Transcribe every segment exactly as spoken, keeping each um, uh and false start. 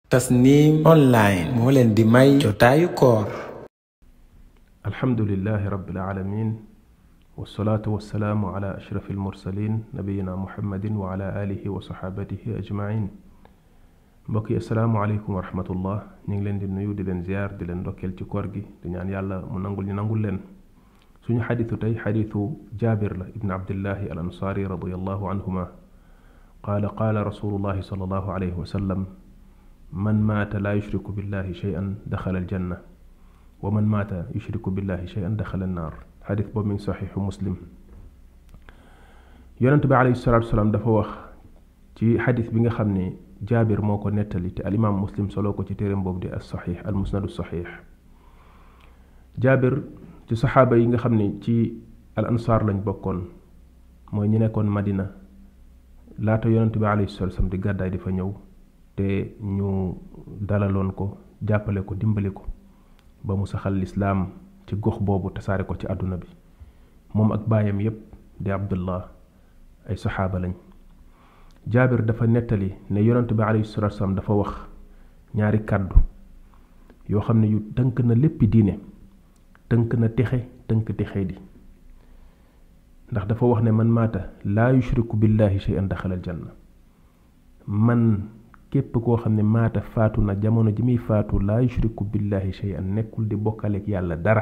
Tasnim online moo leen di may jotaayu koor. alhamdulillahi rabbil alamin wasalaatu wasalaamu ala ashrafi almursalin nabiyina muhammadin wa ala alihi wa saxaabatihi ajmain. mbokk yi asalaamu aleykum wa rahmatullah. ñu ngi leen di nuyu di leen ziyaar di leen ndokkeel ci koor gi di ñaan yàlla mu nangul ñu nangul leen. suñu xadiisu tey xadiisu jaabir la ibn abdillahi al ansaari radiallahu anhuma qaala qaala rasulullahi sallallahu alayhi wa sallam man maata laa yushriku billahi shay'an daxala aljanna wa man maata yushriku billahi shay'an daxala annaar. xadis boobu mi ngi saxiixu muslim. yonent bi alayhi salaatu wasalaam dafa wax ci xadis bi nga xam ne jaabir moo ko nettali te alimaam muslim soloo ko ci téeréem boobu di as saxiix al musnadu saxiix. jaabir ci saxaaba yi nga xam ne ci al ansaar lañ bokkoon, mooy ñi nekkoon madina laata yonent bi alayhi salaatu wasalaam di gàddaay di fa ñëw te ñu dalaloon ko jàppale ko dimbali ko ba mu saxal lislaam ci gox boobu tasaare ko ci àdduna bi. moom ak baayam yépp di abdullah ay saxaaba lañ. jaabir dafa nettali ne yonent bi alayhi salaatu wasalaam dafa wax ñaari kàddu yoo xam ne yu tënk na léppi diine, tënk na texe tënk texe di. ndax dafa wax ne man maata laa yushriku billahi shay'an daxala aljanna. man képp koo xam ne maata faatu na jamono ji muy faatu laa yushriku billahi shay'an nekkul di bokkaleeg yàlla dara.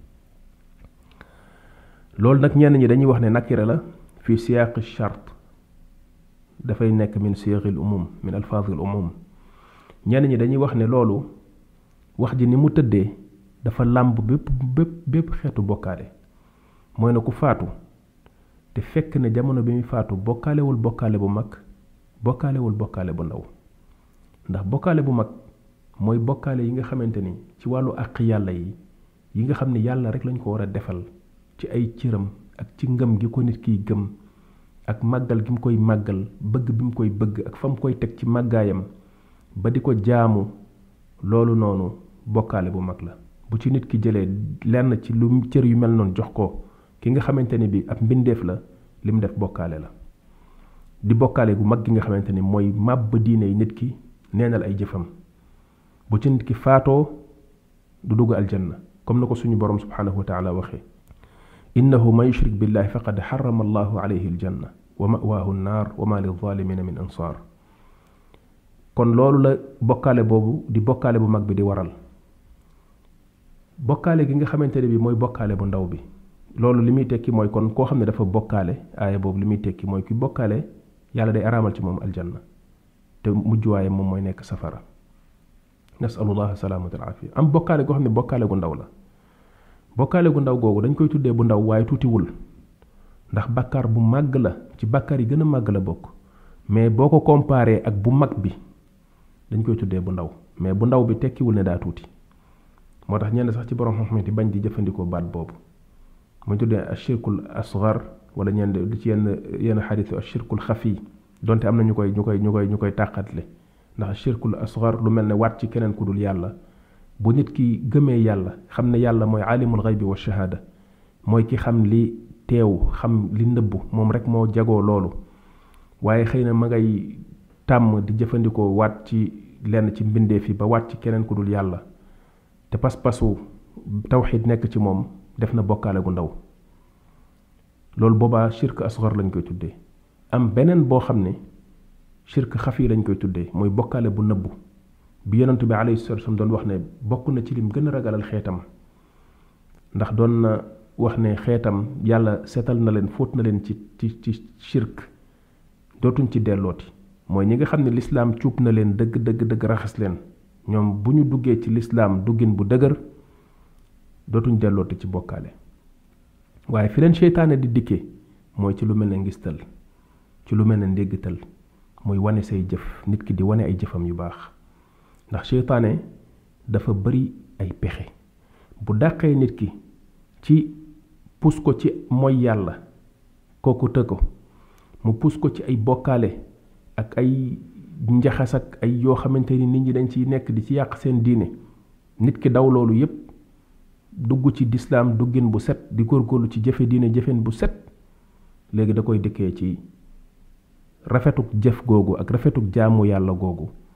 loolu nag ñenn ñi dañuy wax ne nakira la fi siyaaqi shart, dafay nekk min siyaaqil umum min alfaazil umum. ñenn ñi dañuy wax ne loolu wax ji ni mu tëddee dafa làmb bépp bépp bépp xeetu bokkaale. mooy na ku faatu te fekk ne jamono bi muy faatu bokkaalewul bokkaale bu mag bokkaalewul bokkaale bu ndaw. ndax bokkaale bu mag mooy bokkaale yi nga xamante ni ci wàllu àq yàlla yi yi nga xam ne yàlla rek lañ ko war a defal ci ay cëram ak ci ngëm gi ko nit kiy gëm ak màggal gi mu koy màggal, bëgg bi mu koy bëgg ak fa mu koy teg ci màggaayam ba di ko jaamu. loolu noonu bokkaale bu mag la. bu ci nit ki jëlee lenn ci lu cër yu mel noonu jox ko ki nga xamante ni bi ab mbindeef la, lim def bokkaale la. di bokkaale gu mag gi nga xamante ni mooy màbb diine yi nit ki, neenal ay jëfam. bu ci nit ki faatoo du dugg aljanna comme na ko suñu borom subhanahu wa taala waxee, innahu man yushrik billahi faqad xarama allahu alayhi aljanna wa mawaahu annaar wa ma lilzalimina min ansaar. kon loolu la bokkaale boobu di bokkaale bu mag bi di waral. bokkaale gi nga xamante ne bi mooy bokkaale bu ndaw bi, loolu li muy tekki mooy kon koo xam ne dafa bokkaale, aaya boobu li muy tekki mooy ki bokkaale yàlla day araamal ci moom aljanna te mujjuwaaye moom mooy nekk safara. nasalullah salaamata al afiya. am bokkaale goo xam ne bokkaale gu ndaw la. bokkaale gu ndaw googu dañ koy tuddee bu ndaw waaye tuutiwul, ndax bàkkaar bu màgg la, ci bàkkaar yi gën a màgg la bokk. mais boo ko comparé ak bu mag bi dañ koy tuddee bu ndaw, mais bu ndaw bi tekkiwul ne daa tuuti. moo tax ñenn sax ci borom xam-xam yi bañ di jëfandikoo baat boobu mu tuddee ashirkul asghar, wala ñenn di ci yenn yenn xadiisu ashirkul xafi, donte am na ñu koy ñu koy ñu koy ñu koy tàqatle. ndax ashirkul asghar lu mel ne waat ci keneen ku dul yàlla. bu nit ki gëmee yàlla xam ne yàlla mooy alimul ghaybi wa shahada, mooy ki xam li teew xam li nëbbu, moom rek moo jagoo loolu. waaye xëy na ma ngay tàmm di jëfandikoo waat ci lenn ci mbindeef yi ba waat ci keneen ku dul yàlla, te pas-pasu tawxid nekk ci moom, def na bokkaale gu ndaw. loolu boobaa shirk asghar lañ koy tuddee. am beneen boo xam ne shirk xafi lañ koy tuddee, mooy bokkaale bu nëbbu bi yonent bi alayhi salaatu wasallam doon wax ne bokk na ci lim gën a ragalal xeetam. ndax doon na wax ne xeetam yàlla seetal na leen, fóot na leen ci ci ci shirk, dootuñ ci dellooti. mooy ñi nga xam ne lislaam cuub na leen dëgg dëgg dëgg raxas leen, ñoom bu ñu duggee ci lislaam duggin bu dëgër dootuñ dellooti ci bokkaale. waaye fi leen seytaane di dikkee mooy ci lu mel ne ngistal, ci lu mel ne ndéggatal, muy wane say jëf, nit ki di wane ay jëfam yu baax. ndax seytaane dafa bari ay pexe. bu dàqee nit ki ci pus ko ci mooy yàlla, kooku të ko mu pus ko ci ay bokkaale ak ay njaxas ak ay yoo xamante ni nit ñi dañ ciy nekk di ci yàq seen diine. nit ki daw loolu yépp dugg ci lislaam duggin bu set, di góorgóorlu ci jëfe diine jëfen bu set. léegi da koy dëkkee ci rafetuk jëf googu ak rafetuk jaamu yàlla googu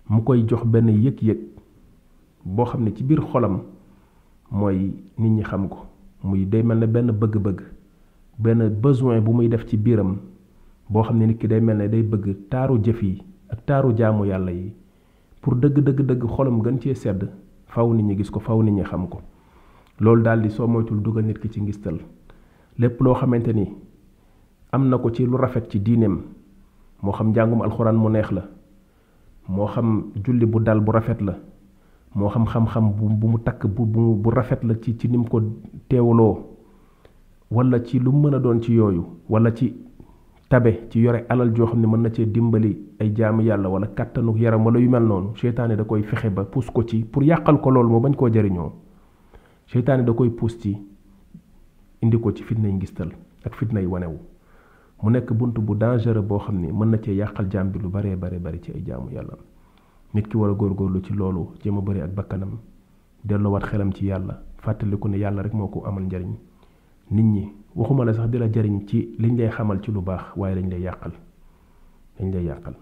mu koy jox benn yëg-yëg boo xam ne ci biir xolam mooy nit ñi xam ko muy day mel ne benn bëgg-bëgg benn besoin bu muy def ci biiram boo xam ne nit ki day mel ne day bëgg taaru jëf yi ak taaru jaamu yàlla yi pour dëgg dëgg dëgg xolam gën cee sedd faw nit ñi gis ko faw nit ñi xam ko loolu daal di soo moytul dugal nit ki ci ngistal lépp loo xamante ni am na ko ci lu rafet ci diineem moo xam njàngum alxuraan mu neex la moo xam julli bu dal bu rafet la moo xam xam-xam bu bu mu takk bu bu bu rafet la ci ci nim ko teewloo wala ci lu mën a doon ci yooyu wala ci tabe ci yore alal joo xam ne mën na cee dimbali ay jaamu yàlla wala kàttanu yaram wala yu mel noonu seytaane da koy fexe ba puus ko ci pour yàqal ko loolu moo bañ koo jariñoo seytaane da koy puus ci indi ko ci fitnay ngistal ak fitnay wanewu mu nekk bunt bu dangereux boo xam ne mën na cee yàqal jaam bi lu baree bare bari ci ay jaamu yàlla nit ki war a góorgóorlu ci loolu jéem a bëri ak bakkanam delloowaat xelam ci yàlla fàttaliku ne yàlla rek moo ko amal njariñ nit ñi waxuma la sax di la jariñ ci liñ lay xamal ci lu baax waaye dañ lay yàqal dañ lay yàqal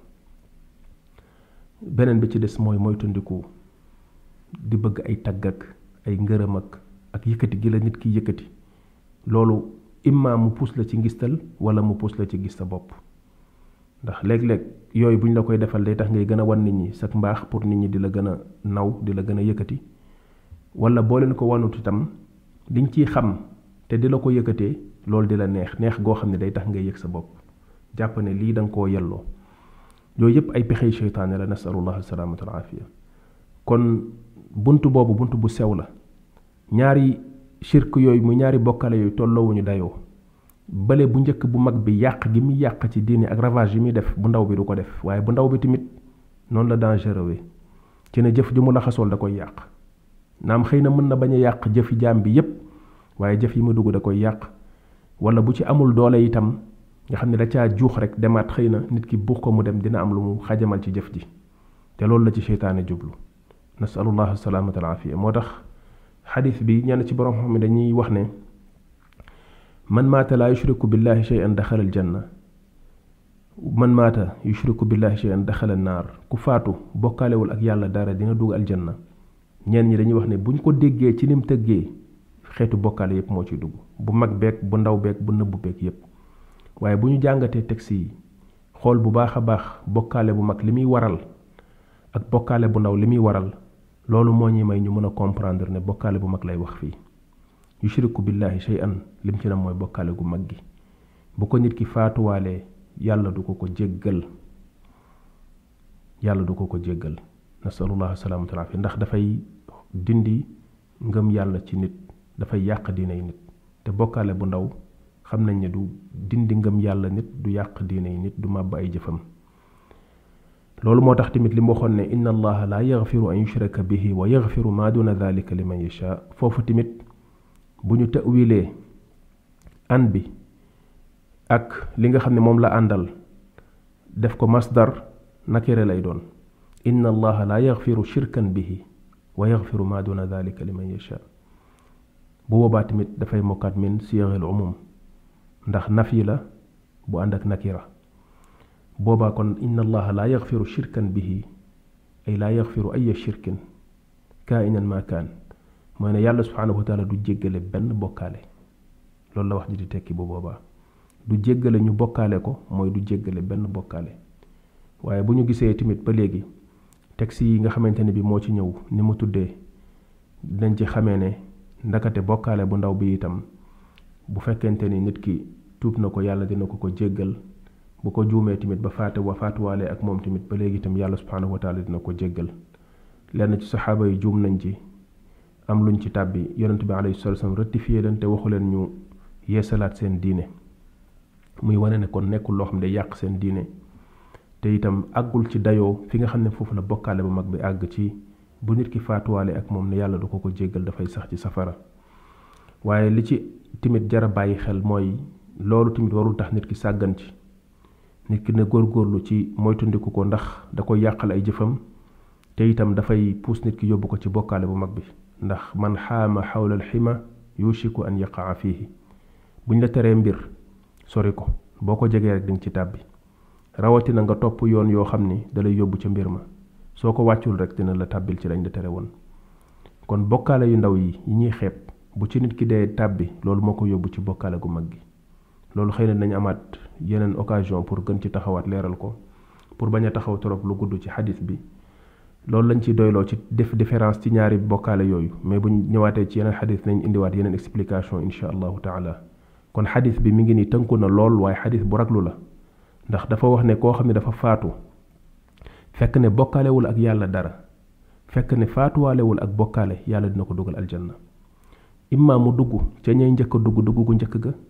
beneen bi ci des mooy moytandiku di bëgg ay tagg ak ay ngërëm ak ak yëkkati gi la nit ki yëkkati loolu imma mu puus la ci ngistal wala mu puus la ci gis sa bopp ndax léeg-léeg yooyu buñ la koy defal day tax ngay gën a wan nit ñi sak mbaax pour nit ñi di la gën a naw di la gën a yëkkati wala boo leen ko wanut itam liñ ciy xam te di la ko yëkkatee loolu di la neex neex goo xam ne day tax ngay yëg sa bopp jàpp ne lii da nga koo yelloo yooyu yëpp ay pexey seytaane la nasalullah alsalamata al afiya kon buntu boobu buntu bu sew la ñaari shirk yooyu mu ñaari bokkale yooyu tolloowuñu dayoo bale bu njëkk bu mag bi yàq gi muy yàq ci diine ak ravage yi muy def bu ndaw bi du ko def waaye bu ndaw bi tamit noonu la dangereux ci ne jëf ju mu laxasool da koy yàq naam xëy na mën na bañ a yàq jëfi jaam bi yépp waaye jëf yi mu dugg da koy yàq wala bu ci amul doole itam nga xam ne da caa juux rek demaat xëy na nit ki buux ko mu dem dina am lu mu xajamal ci jëf ji te loolu la ci seytaane jublu nasalullah salaamata al afiya moo tax xadis bi ñenn ci borom xam ne dañuy wax ne man maata laa yushriku billahi shay'an daxala al janna man maata yushriku billahi shay'an daxala an naar ku faatu bokkaalewul ak yàlla dara dina dugg aljanna ñenn ñi dañuy wax ne buñ ko déggee ci nim tëggee xeetu bokkaale yépp moo ciy dugg bu mag beeg bu ndaw beeg bu nëbbu beeg yépp waaye bu ñu jàngatee texte yi xool bu baax a baax bokkaale bu mag li muy waral ak bokkaale bu ndaw li muy waral loolu moo ñuy may ñu mën a comprendre ne bokkaale bu mag lay wax fii yushriku billahi shay'an lim ci nam mooy bokkaale gu mag gi bu ko nit ki faatuwaalee yàlla du ko ko jéggal yàlla du ko ko jéggal nasalullah salaamatu alaafiya ndax dafay dindi ngëm yàlla ci nit dafay yàq diinay nit te bokkaale bu ndaw xam nañ ne du dindi ngëm yàlla nit du yàq diinay nit du màbb ay jëfam loolu moo tax tamit li mu waxoon ne inna allaha la yaghfiru an yushraka bihi wa yaghfiru ma duna dhalika liman yasha foofu tamit bu ñu ta'wilee an bi ak li nga xam ne moom la àndal def ko masdar nakire lay doon inna allaha la yaghfiru shirkan bihi wa yaghfiru ma duna dhalika liman yasha bu boobaa tamit dafay mokkaat min siyaghil umum ndax nafi la bu ànd ak nakira boobaa kon inna allaha la yaghfiru shirkan bihi ay la yaghfiru ay shirkin kainan ma kaan mooy ne yàlla subhanahu wa taala du jéggale benn bokkaale loolu la wax ji di tekki bu boobaa du jéggale ñu bokkaale ko mooy du jéggale benn bokkaale waaye bu ñu gisee tamit ba léegi texte yi nga xamante ne bi moo ci ñëw ni mu tuddee dinañ ci xamee ne ndakate bokkaale bu ndaw bi itam bu fekkente ni nit ki tuub na ko yàlla dina ko ko jéggal bu ko juumee tamit ba faate wa faatuwaale ak moom tamit ba léegi itam yàlla subhanahu wa taala dina ko jéggal lenn ci saxaaba yi juum nañ ci am luñ ci tàbbi yonent bi alayhi salatu wasallam rectifié leen te waxu leen ñu yeesalaat seen diine muy wane ne kon nekkul loo xam ne day yàq seen diine te itam àggul ci dayoo fi nga xam ne foofu la bokkaale bu mag bi àgg ci bu nit ki faatuwaale ak moom ne yàlla du ko ko jéggal dafay sax ci safara waaye li ci tamit jara bàyyi xel mooy loolu tamit warul tax nit ki sàggan ci nit ki ne góorgóorlu ci moytundiku ko ndax da koy yàqal ay jëfam te itam dafay puus nit ki yóbbu ko ci bokkaale bu mag bi ndax man xaama xawla alxima yushiku an yaqaa fiihi buñ la teree mbir sori ko boo ko jegee rek dinga ci tàbbi rawatina nga topp yoon yoo xam ni dalay yóbbu ca mbir ma soo ko wàccul rek dina la tàbbil ci lañ la tere woon kon bokkaale yu ndaw yi yi ñuy xeeb bu ci nit ki dee tàbbi loolu moo ko yóbbu ci bokkaale gu mag gi loolu xëy na nañ amaat yeneen occasion pour gën ci taxawaat leeral ko pour bañ a taxaw trop lu gudd ci xadis bi loolu lañ ci doyloo ci def différence ci ñaari bokkaale yooyu mais buñ ñëwaatee ci yeneen xadis nañ indiwaat yeneen explication insha allahu taala kon xadis bi mi ngi ni tënku na lool waaye xadis bu raglu la ndax dafa wax ne koo xam ne dafa faatu fekk ne bokkaalewul ak yàlla dara fekk ne faatuwaalewul ak bokkaale yàlla dina ko dugal aljanna imma mu dugg ca ñay njëkk a dugg dugg gu njëkk ga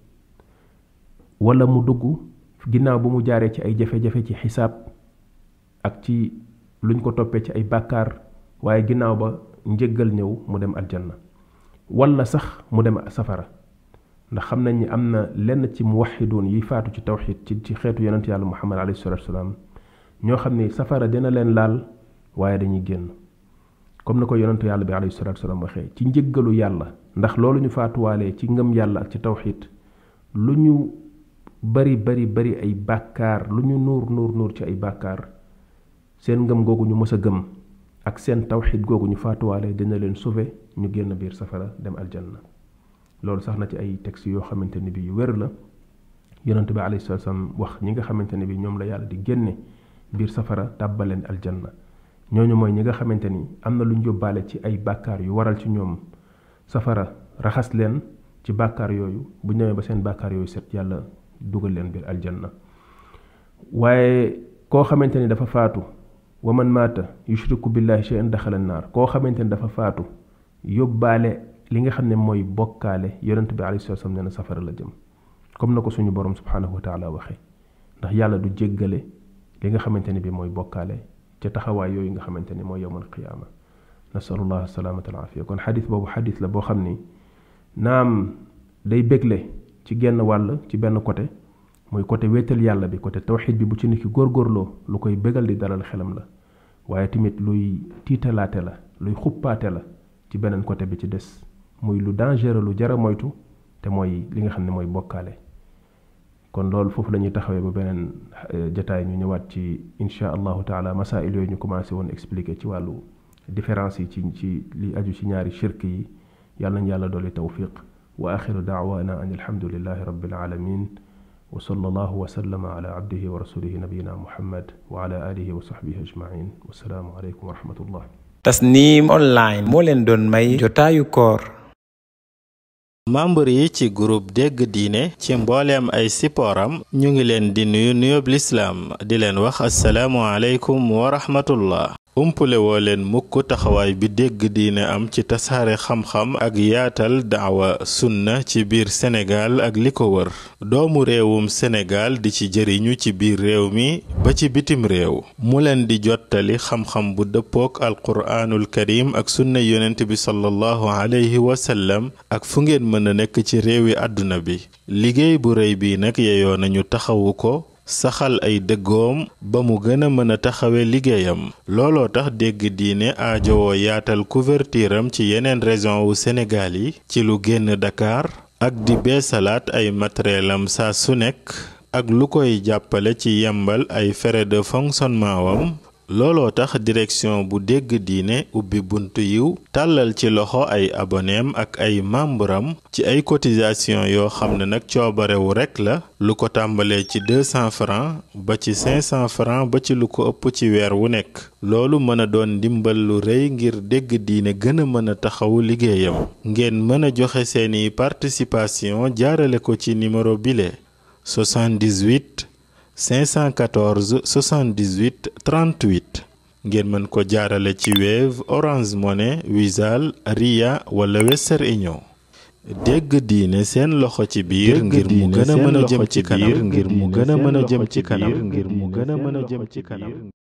wala mu dugg ginnaaw bu mu jaaree ci ay jafe-jafe ci xisaab ak ci luñ ko toppee ci ay bàkkaar waaye ginnaaw ba njëggal ñëw mu dem aljanna wala sax mu dem safara ndax xam nañ ni am na lenn ci muwaxidoon yi faatu ci tawxid ci ci xeetu yonent yàlla muhammad alayhi salatu wasalaam ñoo xam ni safara dina leen laal waaye dañuy génn comme na ko yonent yàlla bi alayhi salatu wasalaam waxee ci njëggalu yàlla ndax loolu ñu faatuwaalee ci ngëm yàlla ak ci tawxid lu ñu bari bari bari ay bàkkaar lu ñu nuur nuur nuur ci ay bàkkaar seen ngëm googu ñu mës a gëm ak seen tawxid googu ñu faatuwaalee dina leen sauver ñu génn biir safara dem aljanna loolu sax na ci ay texte yoo xamante ni bi yu wér la yonent bi alayhi salatu wasallam wax ñi nga xamante ni bi ñoom la yàlla di génne biir safara tàbbaleen aljanna ñooñu mooy ñi nga xamante ni am na lu ñu yóbbaale ci ay bàkkaar yu waral ci ñoom safara raxas leen ci bàkkaar yooyu bu ñëwee ba seen bàkkaar yooyu set yàlla dugal leen biir aljanna waaye koo xamante ni dafa faatu wa man maata yushriku billahi shay'an daxala naar koo xamante ni dafa faatu yóbbaale li nga xam ne mooy bokkaale yonent bi alayhi salaam nee na safara la jëm comme na ko suñu borom subhanahu wa taala waxee ndax yàlla du jéggale li nga xamante ni bi mooy bokkaale ca taxawaay yooyu nga xamante ni mooy yowmal qiyaama nasalullah salaamata al afiya kon xadis boobu xadis la boo xam ni naam day bégle ci genn wàll ci benn côté mooy côté wéetal yàlla bi côté tawxid bi bu ci nit ki góorgóorloo lu koy bégal di dalal xelam la waaye tamit luy tiitalaate la luy xuppaate la ci beneen côté bi ci des muy lu dangereux lu jara moytu te mooy li nga xam ne mooy bokkaale kon loolu foofu la ñuy taxawee ba beneen jataay ñu ñëwaat ci insha allahu taala masail yooyu ñu commencé woon expliquer ci wàllu différence yi ci ci li aju ci ñaari shirk yi yàlla nañ yàlla dooli tawfiq wa axiru daawana an alhamdulillahi rabbil alamin wa sallallahu wa sallama ala abdihi wa rasulihi nabiyina muhammad wa ala alihi wa sahbihi ajmain wassalaamu aleykum wa rahmatullah Tasnim online moo leen doon may jotaayu koor membre yi ci groupe dégg diine ci mbooleem ay sippooram ñu ngi leen di nuyu nuyób lislaam di leen wax assalaamu aleykum wa rahmatullah umpule woo leen mukk taxawaay bi dégg diine am ci tasaare xam-xam ak yaatal daawa sunna ci biir Sénégal ak li ko wër doomu réewum Sénégal di ci jëriñu ci biir réew mi ba ci bitim réew mu leen di jottali xam-xam bu dëppook alquraanul karim ak sunna yonent bi sallallahu alayhi wa sallam ak fu ngeen mën a nekk ci réewi àdduna bi liggéey bu rëy bi nag yeyoo nañu taxawu ko saxal ay dëggoom ba mu gën a mën a taxawe liggéeyam looloo tax dégg diine aajowoo yaatal couverture am ci yeneen région wu Sénégal yi ci lu génn Dakar ak di beesalaat ay matériel am saa su nekk ak lu koy jàppale ci yembal ay frais de fonctionnement wam looloo tax direction bu dégg diine ubbi buntu yiw tàllal ci loxo ay aboneem ak ay membram ci ay cotisation yoo xam ne nag coobarewu rekk la lu ko tàmbalee ci deux cents francs ba ci cinq cents francs ba ci lu ko ëpp ci weer wu nekk loolu mën a doon ndimbal lu rëy ngir dégg diine gën a mën a taxawu liggéeyam ngeen mën a joxe seeni participation jaarale ko ci numéro bile soixante-dix-huit cinq cent quatorze soixante-dix-huit trente-huit ngeen mën ko jaarale ci Wave Orange Money Wizall Ria wala Western Union dégg diine seen loxo ci biir ngir mu gën a mën a jëm ci kanam ngir mu gën a mën a jëm ci kanam ngir mu gën a mën a jëm ci kanam